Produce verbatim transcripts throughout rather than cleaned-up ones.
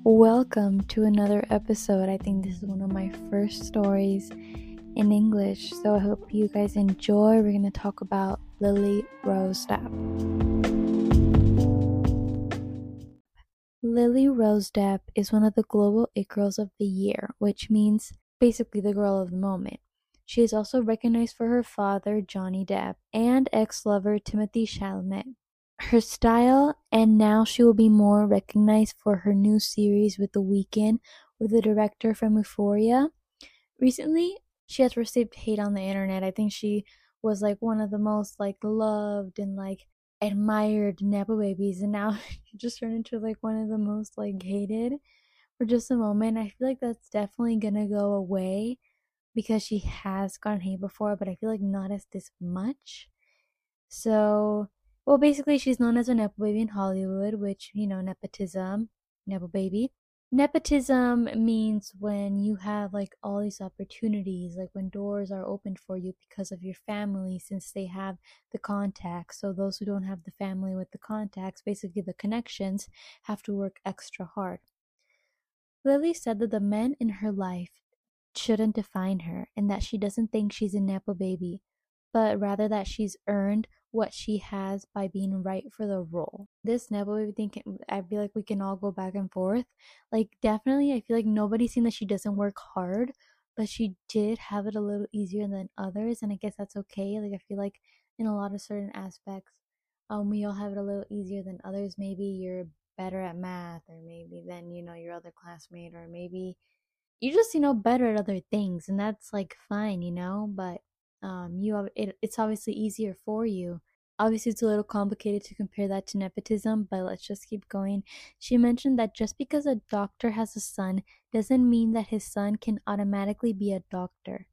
Welcome to another episode. I think this is one of my first stories in English, so I hope you guys enjoy. We're going to talk about Lily Rose Depp. Lily Rose Depp is one of the global it girls of the year, which means basically the girl of the moment. She is also recognized for her father, Johnny Depp, and ex-lover Timothée Chalamet. Her style, and now she will be more recognized for her new series with The Weeknd, with the director from Euphoria. Recently, she has received hate on the internet. I think she was like one of the most like loved and like admired Nepo babies, and now she just turned into like one of the most like hated for just a moment. I feel like that's definitely gonna go away because she has gotten hate before, but I feel like not as this much. So, well, basically, she's known as a Nepo baby in Hollywood, which, you know, nepotism, Nepo baby. Nepotism means when you have like all these opportunities, like when doors are opened for you because of your family, since they have the contacts. So, those who don't have the family with the contacts, basically the connections, have to work extra hard. Lily said that the men in her life shouldn't define her and that she doesn't think she's a Nepo baby, but rather that she's earned what she has by being right for the role. This Nepo baby thing, can, I feel like we can all go back and forth. Like, definitely, I feel like nobody's seen that she doesn't work hard, but she did have it a little easier than others, and I guess that's okay. Like, I feel like in a lot of certain aspects, um, we all have it a little easier than others. Maybe you're better at math, or maybe than, you know, your other classmate, or maybe you just, you know, better at other things, and that's like fine, you know, but um you have it, it's obviously easier for you. Obviously it's a little complicated to compare that to nepotism, but let's just keep going. She mentioned that just because a doctor has a son doesn't mean that his son can automatically be a doctor.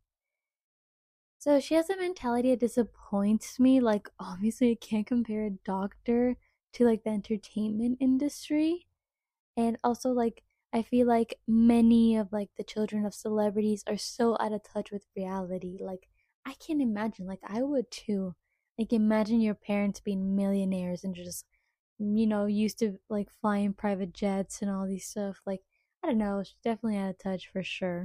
So she has a mentality that disappoints me. Like, obviously I can't compare a doctor to like the entertainment industry. And also, like, I feel like many of like the children of celebrities are so out of touch with reality. Like, I can't imagine, like I would too. Like, imagine your parents being millionaires and just, you know, used to like flying private jets and all these stuff. Like, I don't know, she's definitely out of touch for sure.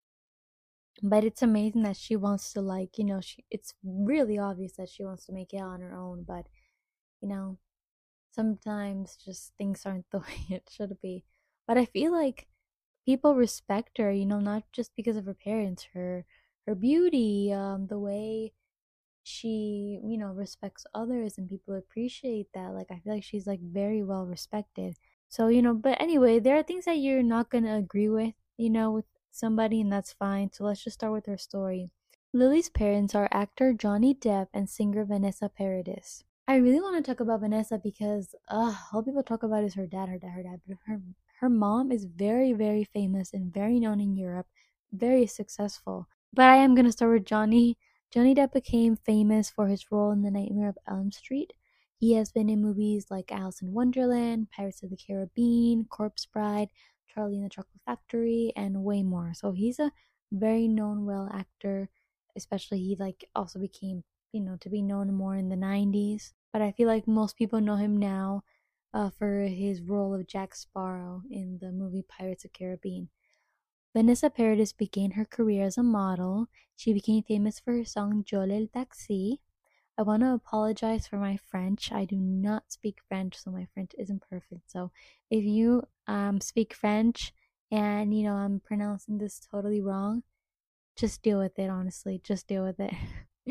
But it's amazing that she wants to, like, you know, she it's really obvious that she wants to make it on her own, but you know, sometimes just things aren't the way it should be. But I feel like people respect her, you know, not just because of her parents, her her beauty, um, the way she, you know, respects others, and people appreciate that. Like, I feel like she's like very well respected. So, you know, but anyway, there are things that you're not gonna agree with, you know, with somebody, and that's fine. So let's just start with her story. Lily's parents are actor Johnny Depp and singer Vanessa Paradis. I really want to talk about Vanessa because uh, all people talk about is her dad, her dad, her dad. But her her mom is very, very famous and very known in Europe, very successful. But I am gonna start with Johnny. Johnny Depp became famous for his role in The Nightmare of Elm Street. He has been in movies like Alice in Wonderland, Pirates of the Caribbean, Corpse Bride, Charlie and the Chocolate Factory, and way more. So he's a very known, well actor. Especially he like also became, you know, to be known more in the nineties. But I feel like most people know him now uh, for his role of Jack Sparrow in the movie Pirates of the Caribbean. Vanessa Paradis began her career as a model. She became famous for her song Jole el Taxi. I want to apologize for my French. I do not speak French, so my French isn't perfect. So if you um, speak French and, you know, I'm pronouncing this totally wrong, just deal with it, honestly. Just deal with it.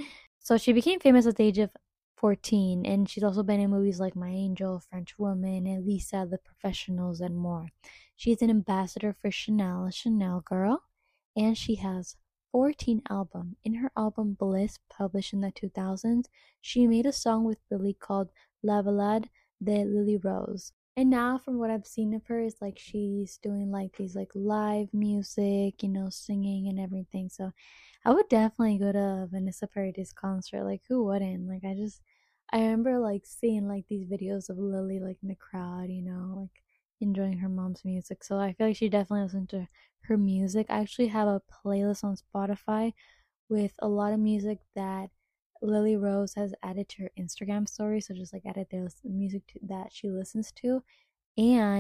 So she became famous at the age of fourteen, and she's also been in movies like My Angel, French Woman, Elisa, The Professionals, and more. She's an ambassador for Chanel, a Chanel girl, and she has fourteen albums. In her album Bliss, published in the two thousands, she made a song with Lily called La Balade de Lily Rose. And now, from what I've seen of her, is like she's doing like these like live music, you know, singing and everything. So I would definitely go to a Vanessa Paradis concert. Like, who wouldn't? Like, I just, I remember like seeing like these videos of Lily like in the crowd, you know, like enjoying her mom's music. So I feel like she definitely listened to her music. I actually have a playlist on Spotify with a lot of music that Lily Rose has added to her Instagram story. So just like added the music to, that she listens to, and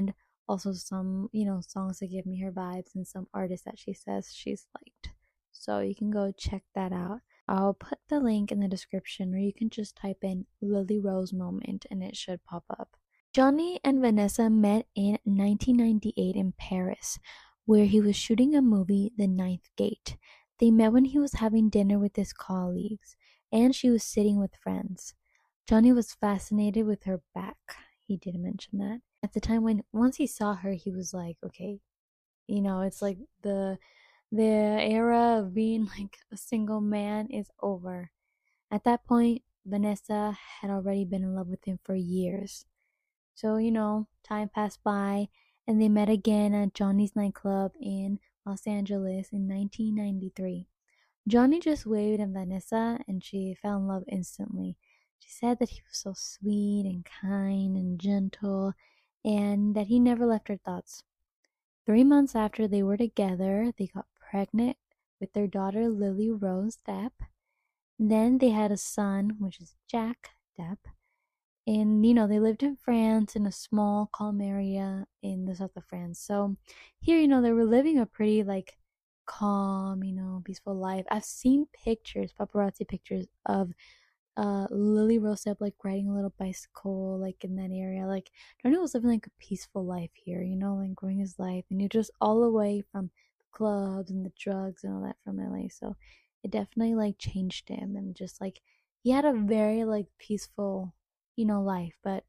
Also some, you know, songs that give me her vibes and some artists that she says she's liked. So you can go check that out. I'll put the link in the description, or you can just type in Lily Rose Moment and it should pop up. Johnny and Vanessa met in nineteen ninety-eight in Paris, where he was shooting a movie, The Ninth Gate. They met when he was having dinner with his colleagues, and she was sitting with friends. Johnny was fascinated with her back. He did mention that. At the time when once he saw her, he was like, okay, you know, it's like the the era of being like a single man is over. At that point, Vanessa had already been in love with him for years. So, you know, time passed by and they met again at Johnny's nightclub in Los Angeles in nineteen ninety-three. Johnny just waved at Vanessa and she fell in love instantly. She said that he was so sweet and kind and gentle and that he never left her thoughts. Three months after they were together, they got pregnant with their daughter Lily Rose Depp. Then they had a son, which is Jack Depp. And, you know, they lived in France in a small, calm area in the south of France. So here, you know, they were living a pretty, like, calm, you know, peaceful life. I've seen pictures, paparazzi pictures of uh Lily Rose Depp, like, riding a little bicycle, like, in that area. Like, Johnny was living, like, a peaceful life here, you know, like, growing his life. And you're just all away from the clubs and the drugs and all that from L A. So it definitely, like, changed him. And just, like, he had a very, like, peaceful, you know, life. But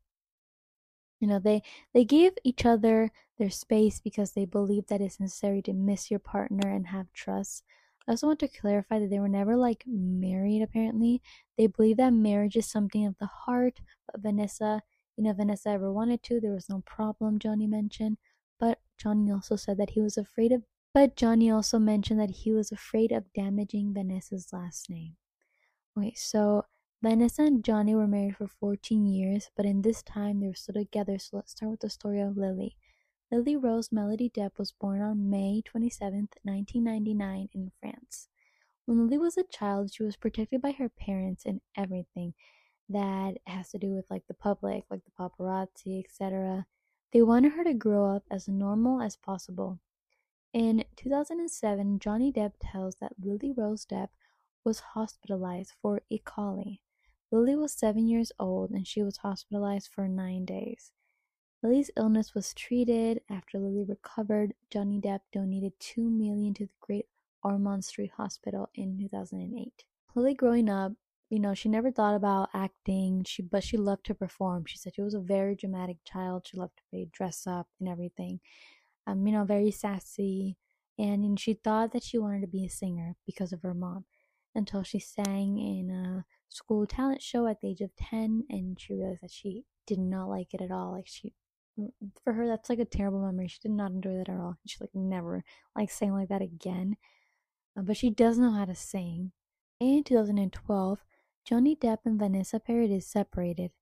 you know, they they give each other their space because they believe that it's necessary to miss your partner and have trust. I also want to clarify that they were never like married, apparently. They believe that marriage is something of the heart, but Vanessa, you know, Vanessa ever wanted to, there was no problem, Johnny mentioned. But Johnny also said that he was afraid of but Johnny also mentioned that he was afraid of damaging Vanessa's last name. Okay, so Vanessa and Johnny were married for fourteen years, but in this time they were still together. So let's start with the story of Lily. Lily Rose Melody Depp was born on May twenty-seventh, nineteen ninety-nine in France. When Lily was a child, she was protected by her parents in everything that has to do with like the public, like the paparazzi, et cetera. They wanted her to grow up as normal as possible. In two thousand seven, Johnny Depp tells that Lily Rose Depp was hospitalized for E. coli. Lily was seven years old and she was hospitalized for nine days. Lily's illness was treated. After Lily recovered, Johnny Depp donated two million dollars to the Great Ormond Street Hospital in two thousand eight. Lily growing up, you know, she never thought about acting, she but she loved to perform. She said she was a very dramatic child. She loved to play dress up and everything. Um, you know, very sassy. And, and she thought that she wanted to be a singer because of her mom until she sang in a school talent show at the age of ten and she realized that she did not like it at all. Like, she, for her, that's like a terrible memory. She did not enjoy that at all. She like never like sang like that again. Uh, but she does know how to sing. In two thousand twelve, Johnny Depp and Vanessa Paradis separated.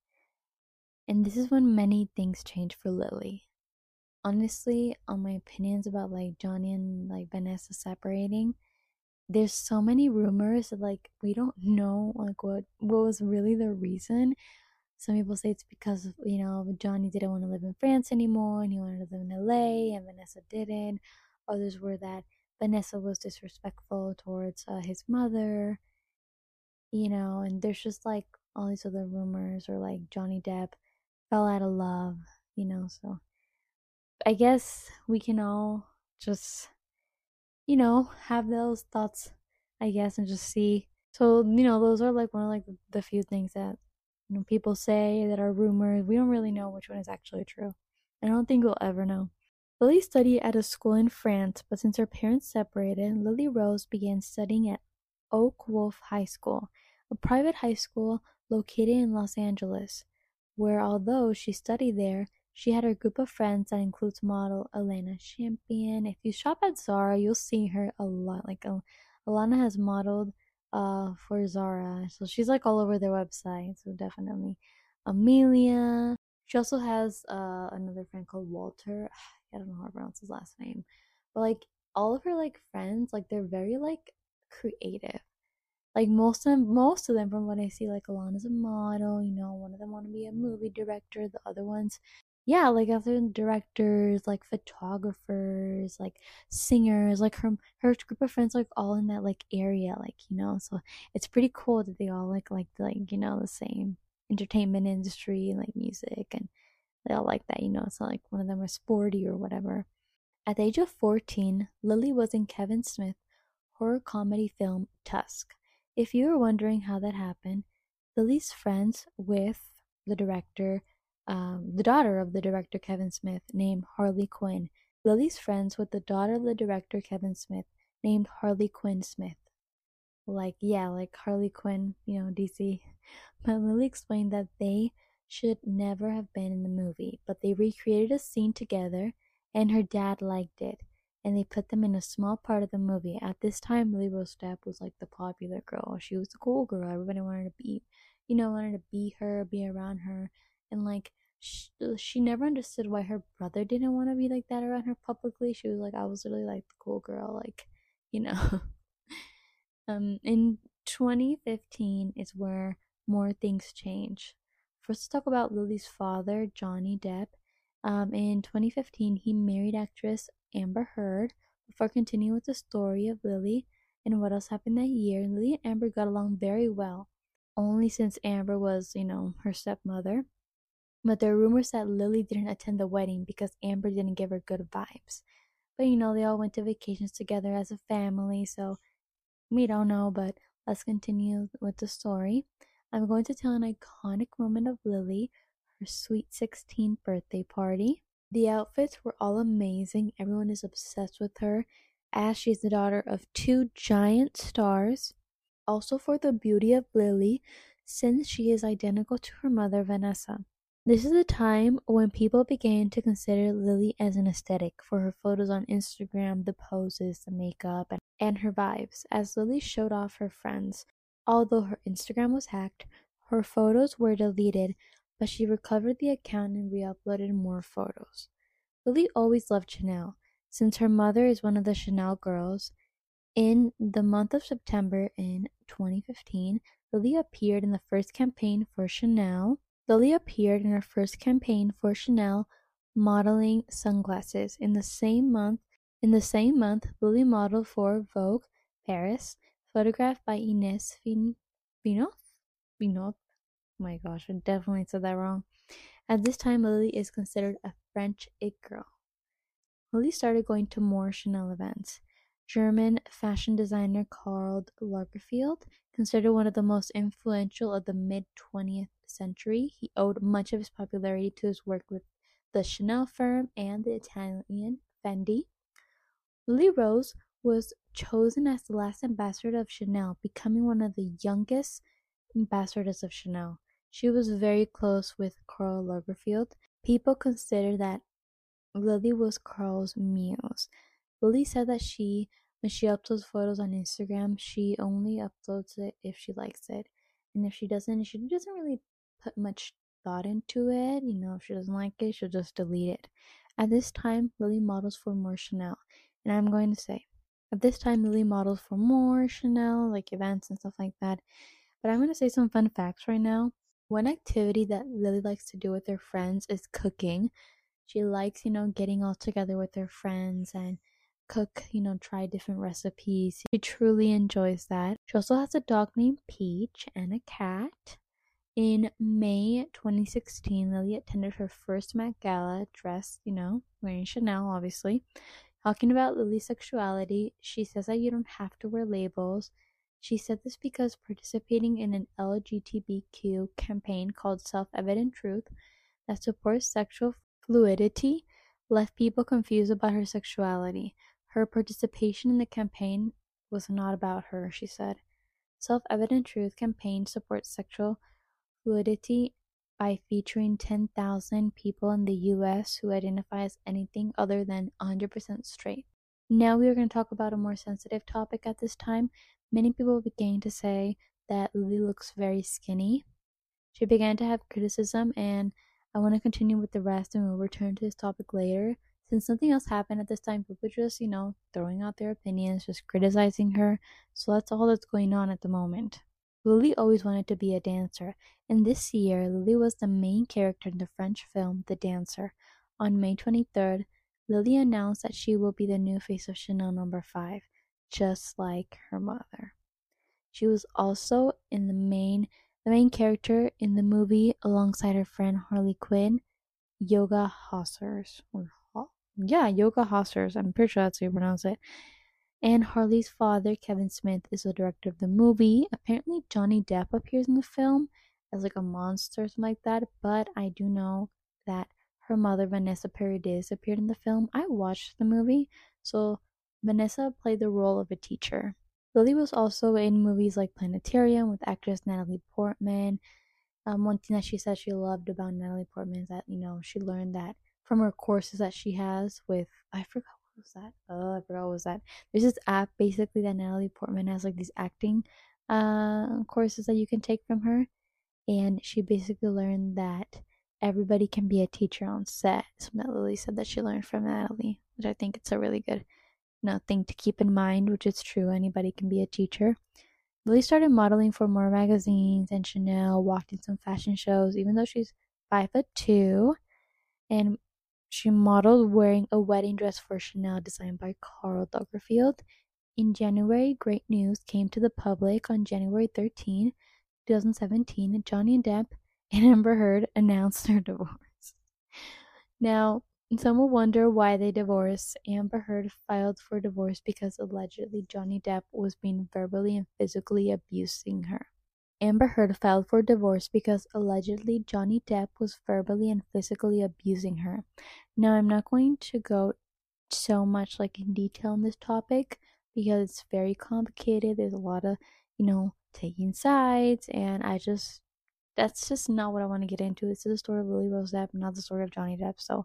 And this is when many things changed for Lily. Honestly, on my opinions about like Johnny and like Vanessa separating, there's so many rumors that like we don't know like what what was really the reason. Some people say it's because of, you know, Johnny didn't want to live in France anymore and he wanted to live in L A and Vanessa didn't. Others were that Vanessa was disrespectful towards uh, his mother, you know, and there's just like all these other rumors, or like Johnny Depp fell out of love, you know. So I guess we can all just, you know, have those thoughts, I guess, and just see. So, you know, those are like one of like the few things that, you know, people say that are rumors. We don't really know which one is actually true. I don't think we'll ever know. Lily studied at a school in France, but since her parents separated, Lily Rose began studying at Oak Wolf High School, a private high school located in Los Angeles, where although she studied there, she had her group of friends that includes model Elena Champion. If you shop at Zara, you'll see her a lot. Like, uh, Alana has modeled uh for Zara, so she's like all over their website. So definitely Amelia. She also has uh another friend called Walter. I don't know how to pronounce his last name, but like all of her like friends, like they're very like creative. Like most of them, most of them, from what I see, like Alana's a model. You know, one of them want to be a movie director. The other ones, Yeah, like other directors, like photographers, like singers, like her her group of friends, like all in that like area, like you know. So it's pretty cool that they all like like like you know the same entertainment industry, like music, and they all like that, you know. It's not like one of them are sporty or whatever. At the age of fourteen, Lily was in Kevin Smith horror comedy film Tusk. If you were wondering how that happened, Lily's friends with the director, um, the daughter of the director Kevin Smith, named Harley Quinn. Lily's friends with the daughter of the director Kevin Smith, named Harley Quinn Smith. Like, yeah, like Harley Quinn, you know, D C. But Lily explained that they should never have been in the movie, but they recreated a scene together and her dad liked it. And they put them in a small part of the movie. At this time, Lily Rose Depp was like the popular girl. She was the cool girl. Everybody wanted to be, you know, wanted to be her, be around her. And like, she, she never understood why her brother didn't want to be like that around her publicly. She was like, I was really like the cool girl, like, you know. Um, in twenty fifteen is where more things change. First, let's talk about Lily's father, Johnny Depp. Um, in twenty fifteen, he married actress Amber Heard. Before continuing with the story of Lily and what else happened that year, Lily and Amber got along very well, only since Amber was, you know, her stepmother. But there are rumors that Lily didn't attend the wedding because Amber didn't give her good vibes. But you know, they all went to vacations together as a family, so we don't know, but let's continue with the story. I'm going to tell an iconic moment of Lily, her sweet sixteenth birthday party. The outfits were all amazing. Everyone is obsessed with her, as she's the daughter of two giant stars. Also, for the beauty of Lily, since she is identical to her mother, Vanessa. This is a time when people began to consider Lily as an aesthetic for her photos on Instagram, the poses, the makeup, and, and her vibes. As Lily showed off her friends, although her Instagram was hacked, her photos were deleted, but she recovered the account and re uploaded more photos. Lily always loved Chanel. Since her mother is one of the Chanel girls, in the month of September in twenty fifteen, Lily appeared in the first campaign for Chanel. Lily appeared in her first campaign for Chanel modeling sunglasses. In the same month, in the same month, Lily modeled for Vogue Paris, photographed by Ines Vin- Vinoth. Vinoth. Oh my gosh, I definitely said that wrong. At this time, Lily is considered a French it girl. Lily started going to more Chanel events. German fashion designer Karl Lagerfeld, considered one of the most influential of the mid twentieth century, he owed much of his popularity to his work with the Chanel firm and the Italian Fendi. Lily Rose was chosen as the last ambassador of Chanel, becoming one of the youngest ambassadors of Chanel. She was very close with Karl Lagerfeld. People consider that Lily was Karl's muse. Lily said that she, when she uploads photos on Instagram, she only uploads it if she likes it. And if she doesn't, she doesn't really put much thought into it. You know, if she doesn't like it, she'll just delete it. At this time, Lily models for more Chanel. And I'm going to say, at this time, Lily models for more Chanel, like events and stuff like that. But I'm going to say some fun facts right now. One activity that Lily likes to do with her friends is cooking. She likes, you know, getting all together with her friends and cook, you know, try different recipes. She truly enjoys that. She also has a dog named Peach and a cat. In May twenty sixteen, Lily attended her first Met Gala dressed, you know, wearing Chanel, obviously. Talking about Lily's sexuality, she says that you don't have to wear labels. She said this because participating in an L G B T Q campaign called Self Evident Truth that supports sexual fluidity left people confused about her sexuality. Her participation in the campaign was not about her, she said. Self Evident Truth campaign supports sexual fluidity by featuring ten thousand people in the U S who identify as anything other than one hundred percent straight. Now we are going to talk about a more sensitive topic at this time. Many people began to say that Lily looks very skinny. She began to have criticism, and I want to continue with the rest and we'll return to this topic later. Since nothing else happened at this time, people just, you know, throwing out their opinions, just criticizing her. So that's all that's going on at the moment. Lily always wanted to be a dancer, and this year Lily was the main character in the French film The Dancer. On May twenty-third, Lily announced that she will be the new face of Chanel number five, just like her mother. She was also in the main the main character in the movie alongside her friend Harley Quinn, Yoga Hossers. Or Ho- yeah, Yoga Hossers. I'm pretty sure that's how you pronounce it. And Harley's father, Kevin Smith, is the director of the movie. Apparently, Johnny Depp appears in the film as like a monster or something like that. But I do know that her mother, Vanessa Paradis, appeared in the film. I watched the movie, so Vanessa played the role of a teacher. Lily was also in movies like Planetarium with actress Natalie Portman. Um, one thing that she said she loved about Natalie Portman is that, you know, she learned that from her courses that she has with, I forgot what was that. Oh, I forgot what was that. There's this app basically that Natalie Portman has, like these acting uh, courses that you can take from her. And she basically learned that everybody can be a teacher on set. Something that Lily said that she learned from Natalie, which I think it's a really good, you know, thing to keep in mind, which is true. Anybody can be a teacher. Lily started modeling for more magazines and Chanel, walked in some fashion shows, even though she's five foot two, and she modeled wearing a wedding dress for Chanel designed by Karl Lagerfeld. In January, great news came to the public on January thirteenth, twenty seventeen. Johnny Depp and Amber Heard announced their divorce. Now, some will wonder why they divorced. Amber Heard filed for divorce because allegedly Johnny Depp was being verbally and physically abusing her. Amber Heard filed for divorce because allegedly Johnny Depp was verbally and physically abusing her. Now, I'm not going to go so much like in detail on this topic because it's very complicated. There's a lot of, you know, taking sides, and I just that's just not what I want to get into. This is the story of Lily Rose Depp, not the story of Johnny Depp. So,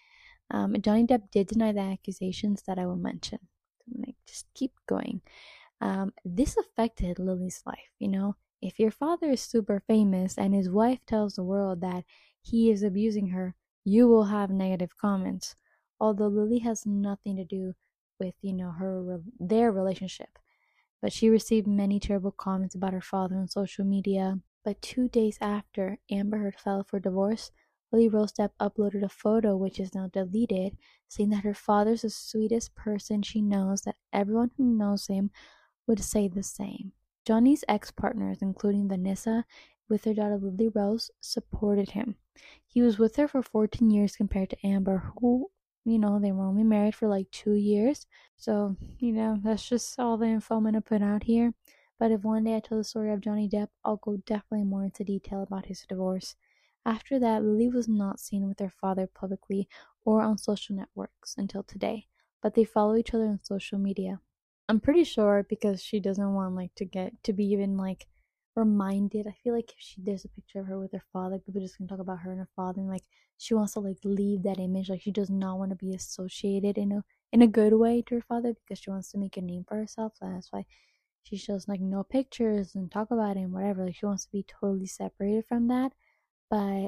um, Johnny Depp did deny the accusations that I will mention. I'm gonna just keep going. Um, this affected Lily's life. You know, if your father is super famous and his wife tells the world that he is abusing her, you will have negative comments. Although Lily has nothing to do with, you know, her their relationship, but she received many terrible comments about her father on social media. But two days after Amber Heard filed for divorce, Lily Rose Depp uploaded a photo which is now deleted, saying that her father's the sweetest person she knows, that everyone who knows him would say the same. Johnny's ex-partners, including Vanessa, with her daughter Lily Rose, supported him. He was with her for fourteen years compared to Amber, who, you know, they were only married for like two years. So, you know, that's just all the info I'm going to put out here. But if one day I tell the story of Johnny Depp, I'll go definitely more into detail about his divorce. After that, Lily was not seen with her father publicly or on social networks until today, but they follow each other on social media. I'm pretty sure because she doesn't want like to get to be even like reminded. I feel like if she there's a picture of her with her father, people just gonna talk about her and her father, and like she wants to like leave that image. Like she does not want to be associated in a in a good way to her father because she wants to make a name for herself. So that's why she shows like no pictures and talk about it and whatever. Like she wants to be totally separated from that. But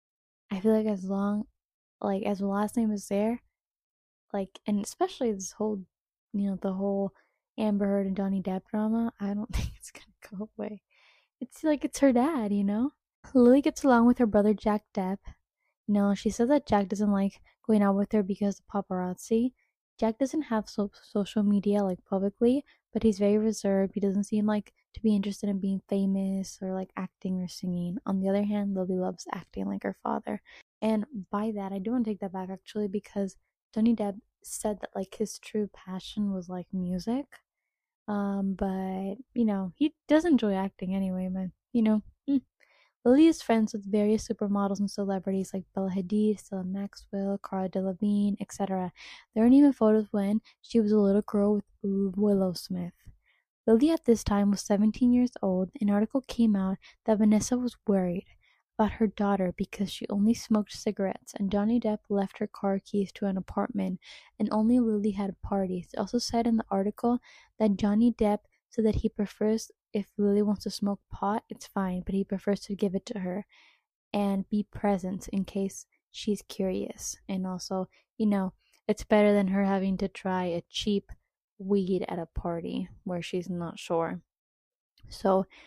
I feel like as long like as the last name is there, like and especially this whole you know, the whole Amber Heard and Johnny Depp drama, I don't think it's gonna go away. It's like it's her dad, you know? Lily gets along with her brother Jack Depp. You know, she says that Jack doesn't like going out with her because of paparazzi. Jack doesn't have so- social media like publicly, but he's very reserved. He doesn't seem like to be interested in being famous or like acting or singing. On the other hand, Lily loves acting like her father. And by that, I do want to take that back actually because Johnny Depp said that like his true passion was like music. Um, but you know, he does enjoy acting anyway, but you know, mm. Lily is friends with various supermodels and celebrities like Bella Hadid, Stella Maxwell, Cara Delevingne, et cetera. There are even photos when she was a little girl with Willow Smith. Lily at this time was seventeen years old. An article came out that Vanessa was worried about her daughter because she only smoked cigarettes, and Johnny Depp left her car keys to an apartment, and only Lily had parties. It also said in the article that Johnny Depp said that he prefers if Lily wants to smoke pot, it's fine, but he prefers to give it to her and be present in case she's curious. And also, you know, it's better than her having to try a cheap weed at a party where she's not sure. So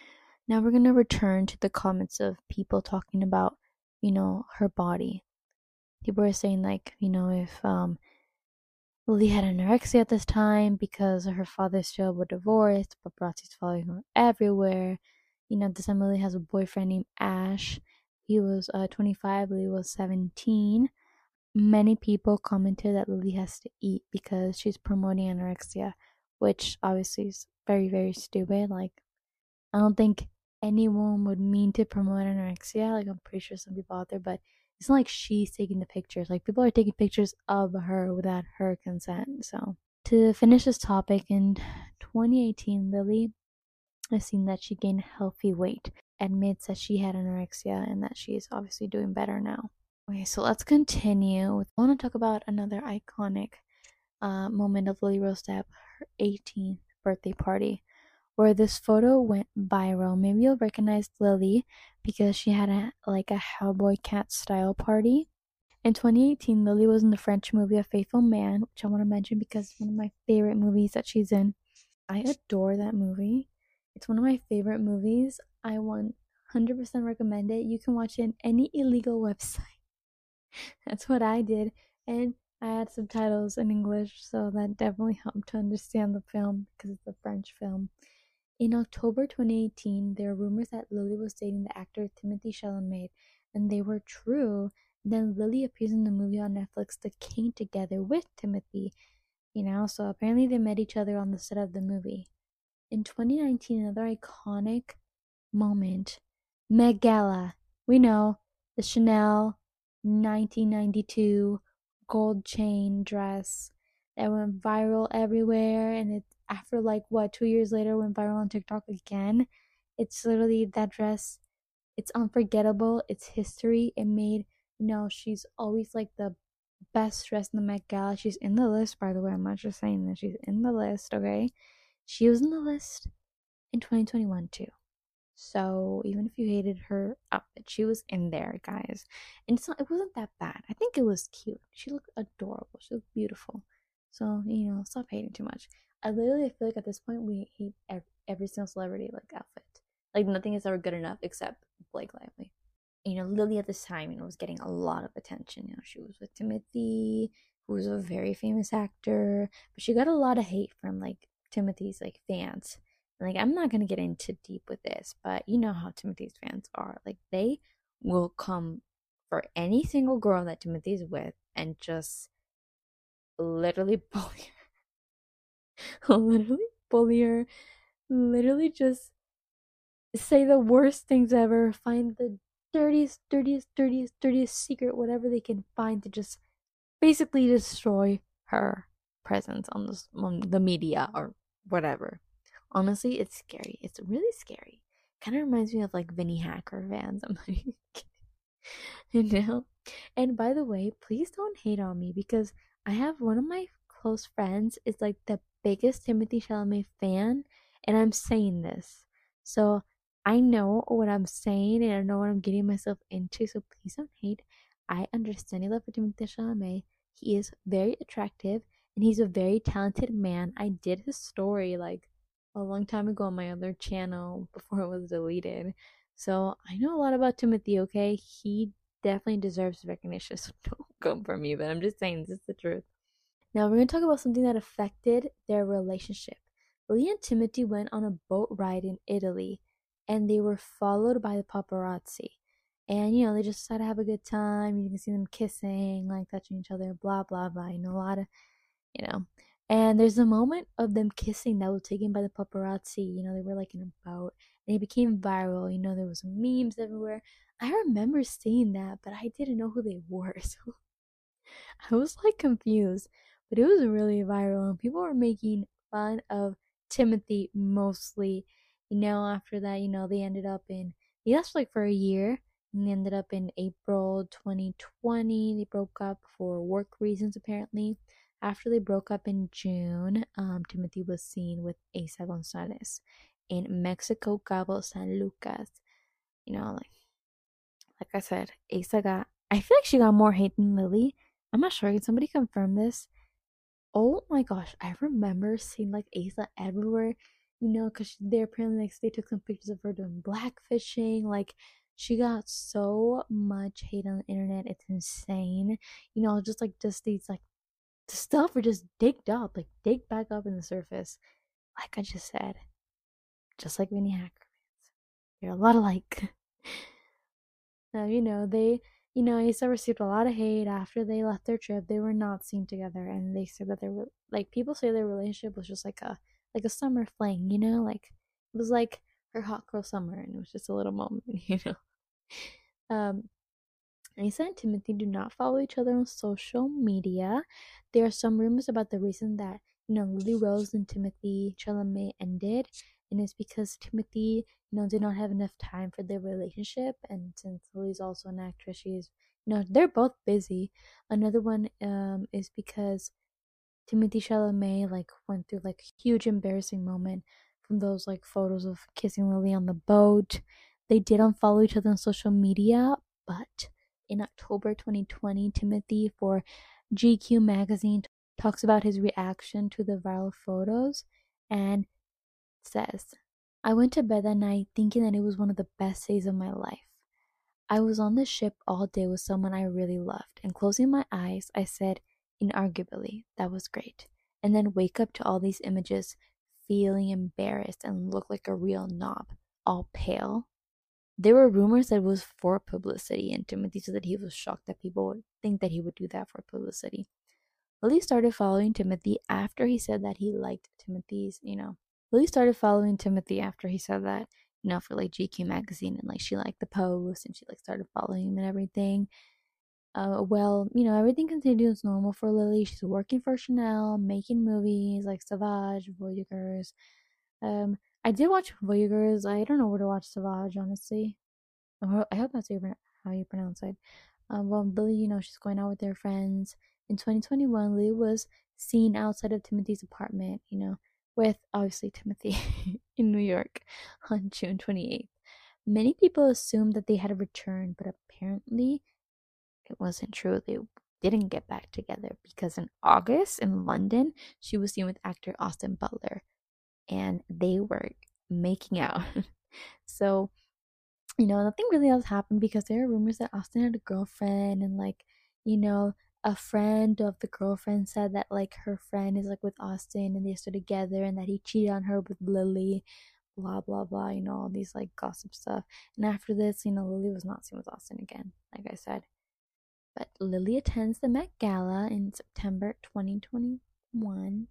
Now we're gonna return to the comments of people talking about, you know, her body. People are saying like, you know, if um Lily had anorexia at this time because her father still were divorced, paparazzi's following her everywhere. You know, this time Lily has a boyfriend named Ash. He was uh, twenty-five, Lily was seventeen. Many people commented that Lily has to eat because she's promoting anorexia, which obviously is very, very stupid. Like, I don't think anyone would mean to promote anorexia. Like, I'm pretty sure some people out there, but it's not like she's taking the pictures. Like, people are taking pictures of her without her consent. So, to finish this topic, in twenty eighteen, Lily has seen that she gained healthy weight, admits that she had anorexia, and that she is obviously doing better now. Okay, so let's continue. I want to talk about another iconic uh, moment of Lily Rose Depp, her eighteenth birthday party, where this photo went viral. Maybe you'll recognize Lily because she had a like a Hellboy cat style party. In twenty eighteen, Lily was in the French movie A Faithful Man, which I want to mention because it's one of my favorite movies that she's in. I adore that movie. It's one of my favorite movies. I one hundred percent recommend it. You can watch it on any illegal website. That's what I did. And I had subtitles in English, so that definitely helped to understand the film because it's a French film. In October twenty eighteen, there are rumors that Lily was dating the actor Timothée Chalamet, and they were true. Then Lily appears in the movie on Netflix, The King, together with Timothy, you know, so apparently they met each other on the set of the movie. In twenty nineteen, another iconic moment, Met Gala. We know the Chanel nineteen ninety-two gold chain dress that went viral everywhere, and it after like what two years later went viral on TikTok again. It's literally that dress. It's unforgettable. It's history. It made you know she's always like the best dressed in the Met Gala. She's in the list, by the way. I'm not just saying that she's in the list. Okay, she was in the list in twenty twenty-one too. So even if you hated her outfit, she was in there, guys. And it's not, it wasn't that bad. I think it was cute. She looked adorable. She looked beautiful. So, you know, stop hating too much. I literally feel like at this point we hate every, every single celebrity like outfit. Like nothing is ever good enough except Blake Lively. You know, Lily at this time, you know, was getting a lot of attention. You know, she was with Timothy, who was a very famous actor, but she got a lot of hate from like Timothy's like fans. Like, I'm not gonna get into deep with this, but you know how Timothy's fans are. Like, they will come for any single girl that Timothy's with and just literally bully her. literally bully her. Literally just say the worst things ever. Find the dirtiest, dirtiest, dirtiest, dirtiest secret, whatever they can find to just basically destroy her presence on the, on the media or whatever. Honestly, it's scary. It's really scary. Kind of reminds me of like Vinnie Hacker fans. I'm like, you know? And by the way, please don't hate on me because I have one of my close friends is like the biggest Timothée Chalamet fan, and I'm saying this. So I know what I'm saying and I know what I'm getting myself into. So please don't hate. I understand your love for Timothée Chalamet. He is very attractive and he's a very talented man. I did his story like a long time ago on my other channel before it was deleted. So I know a lot about Timothy, okay? He definitely deserves recognition, so don't come for me, but I'm just saying this is the truth. Now we're going to talk about something that affected their relationship. Lily and Timothy went on a boat ride in Italy and they were followed by the paparazzi. And you know, they just decided to have a good time. You can see them kissing, like touching each other, blah blah blah. You know, a lot of you know. And there's a moment of them kissing that was taken by the paparazzi. You know, they were like in a boat and it became viral. You know, there was memes everywhere. I remember seeing that, but I didn't know who they were. So I was like confused. But it was really viral and people were making fun of Timothy mostly. You know, after that, you know, they ended up in they lasted like for a year and they ended up in April twenty twenty. They broke up for work reasons apparently. After they broke up in June, um, Timothy was seen with Asa Gonzalez in Mexico, Cabo San Lucas. You know, like like I said, Asa got. I feel like she got more hate than Lily. I'm not sure. Can somebody confirm this? Oh my gosh, I remember seeing like Asa everywhere. you know, because they apparently like they took some pictures of her doing blackfishing. Like she got so much hate on the internet, it's insane. You know, just like just these like stuff were just digged up, like dig back up in the surface. Like I just said, just like Vinnie Hacker fans, they're a lot alike. Uh, you know, they, you know, Issa received a lot of hate after they left their trip. They were not seen together, and they said that they were like people say their relationship was just like a like a summer fling, you know, like it was like her hot girl summer, and it was just a little moment, you know. Um, Issa and Timothy do not follow each other on social media. There are some rumors about the reason that you know Lily Rose and Timothy Chalamet ended, and it's because Timothy, you know, did not have enough time for their relationship, and since Lily's also an actress, she's, you know, they're both busy. Another one um is because Timothy Chalamet like went through like a huge embarrassing moment from those like photos of kissing Lily on the boat. They did unfollow each other on social media, but in October twenty twenty, Timothy for G Q magazine talks about his reaction to the viral photos and says, I went to bed that night thinking that it was one of the best days of my life. I was on the ship all day with someone I really loved, and closing my eyes, I said, inarguably, that was great. And then wake up to all these images, feeling embarrassed and look like a real knob, all pale. There were rumors that it was for publicity, and Timothy said that he was shocked that people would think that he would do that for publicity. Lily started following Timothy after he said that he liked Timothy's, you know, Lily started following Timothy after he said that, you know, for like G Q magazine, and like she liked the post and she like started following him and everything. Uh, well, you know, everything continued as normal for Lily. She's working for Chanel, making movies like Savage, Voyagers. Um, I did watch Voyagers. I don't know where to watch Savage, honestly. I hope that's how you pronounce it. Um, well, Lily, you know, she's going out with their friends. In twenty twenty-one, Lily was seen outside of Timothy's apartment, you know, with obviously Timothy in New York on June twenty-eighth. Many people assumed that they had returned, but apparently it wasn't true. They didn't get back together because in August in London, she was seen with actor Austin Butler and they were making out. So, you know, nothing really else happened because there are rumors that Austin had a girlfriend and like, you know, a friend of the girlfriend said that like her friend is like with Austin and they're still together and that he cheated on her with Lily, blah blah blah, you know, all these like gossip stuff. And after this, you know, Lily was not seen with Austin again, like I said. But Lily attends the Met Gala in September twenty twenty-one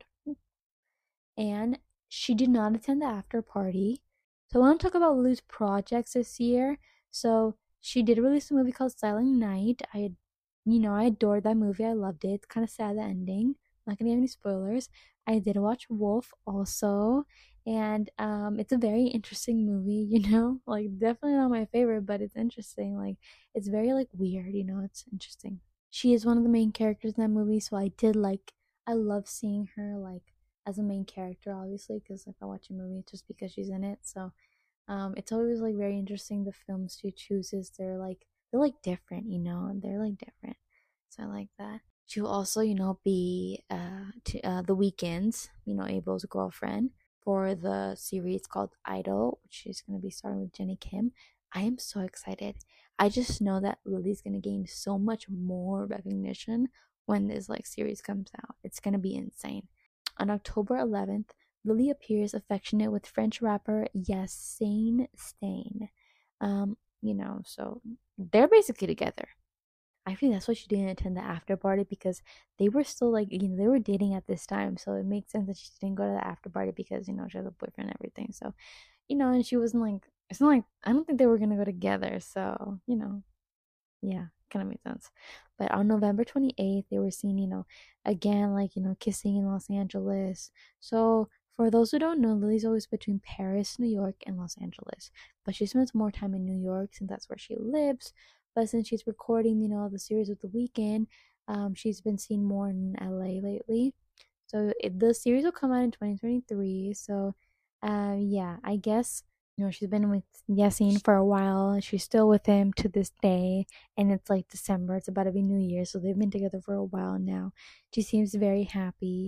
and she did not attend the after party. So I want to talk about Lily's projects this year. So she did release a movie called Silent Night. I, you know, I adored that movie. I loved it. It's kind of sad the ending. I'm not gonna give any spoilers. I did watch Wolf also, and um, it's a very interesting movie. You know, like definitely not my favorite, but it's interesting. Like it's very like weird. You know, it's interesting. She is one of the main characters in that movie, so I did like. I love seeing her like as a main character, obviously, because if I watch a movie, it's just because she's in it. So um, it's always like very interesting the films she chooses. They're like they're like different, you know, and they're like different. So I like that. She'll also, you know, be uh, to, uh the Weeknd's, you know, Abel's girlfriend for the series called Idol, which she's gonna be starting with Jennie Kim. I am so excited. I just know that Lily's gonna gain so much more recognition when this like series comes out. It's gonna be insane. On October eleventh, Lily appears affectionate with French rapper Yassine Stain. Um, you know, so they're basically together. I think that's why she didn't attend the after party because they were still like, you know, they were dating at this time. So it makes sense that she didn't go to the after party because, you know, she has a boyfriend and everything. So, you know, and she wasn't like, it's not like, I don't think they were going to go together. So, you know, yeah, kind of makes sense. But on November twenty-eighth, they were seen, you know, again, like, you know, kissing in Los Angeles. So, for those who don't know, Lily's always between Paris, New York, and Los Angeles. But she spends more time in New York since that's where she lives. But since she's recording, you know, the series with The Weeknd, um, she's been seen more in L A lately. So, it, the series will come out in twenty twenty-three. So, uh, yeah, I guess you know, she's been with Yassine for a while. She's still with him to this day. And it's like December. It's about to be New Year. So they've been together for a while now. She seems very happy.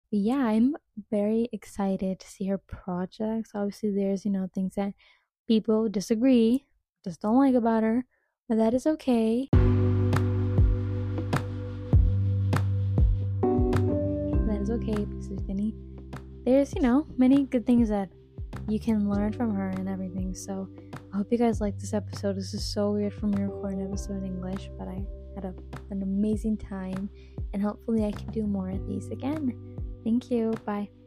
But yeah, I'm very excited to see her projects. Obviously, there's, you know, things that people disagree, just don't like about her, but that is okay. That is okay because there's any, there's, you know, many good things that you can learn from her and everything. So I hope you guys like this episode. This is so weird for me to record an episode in English, but I had a, an amazing time, and hopefully I can do more of these again. Thank you. Bye.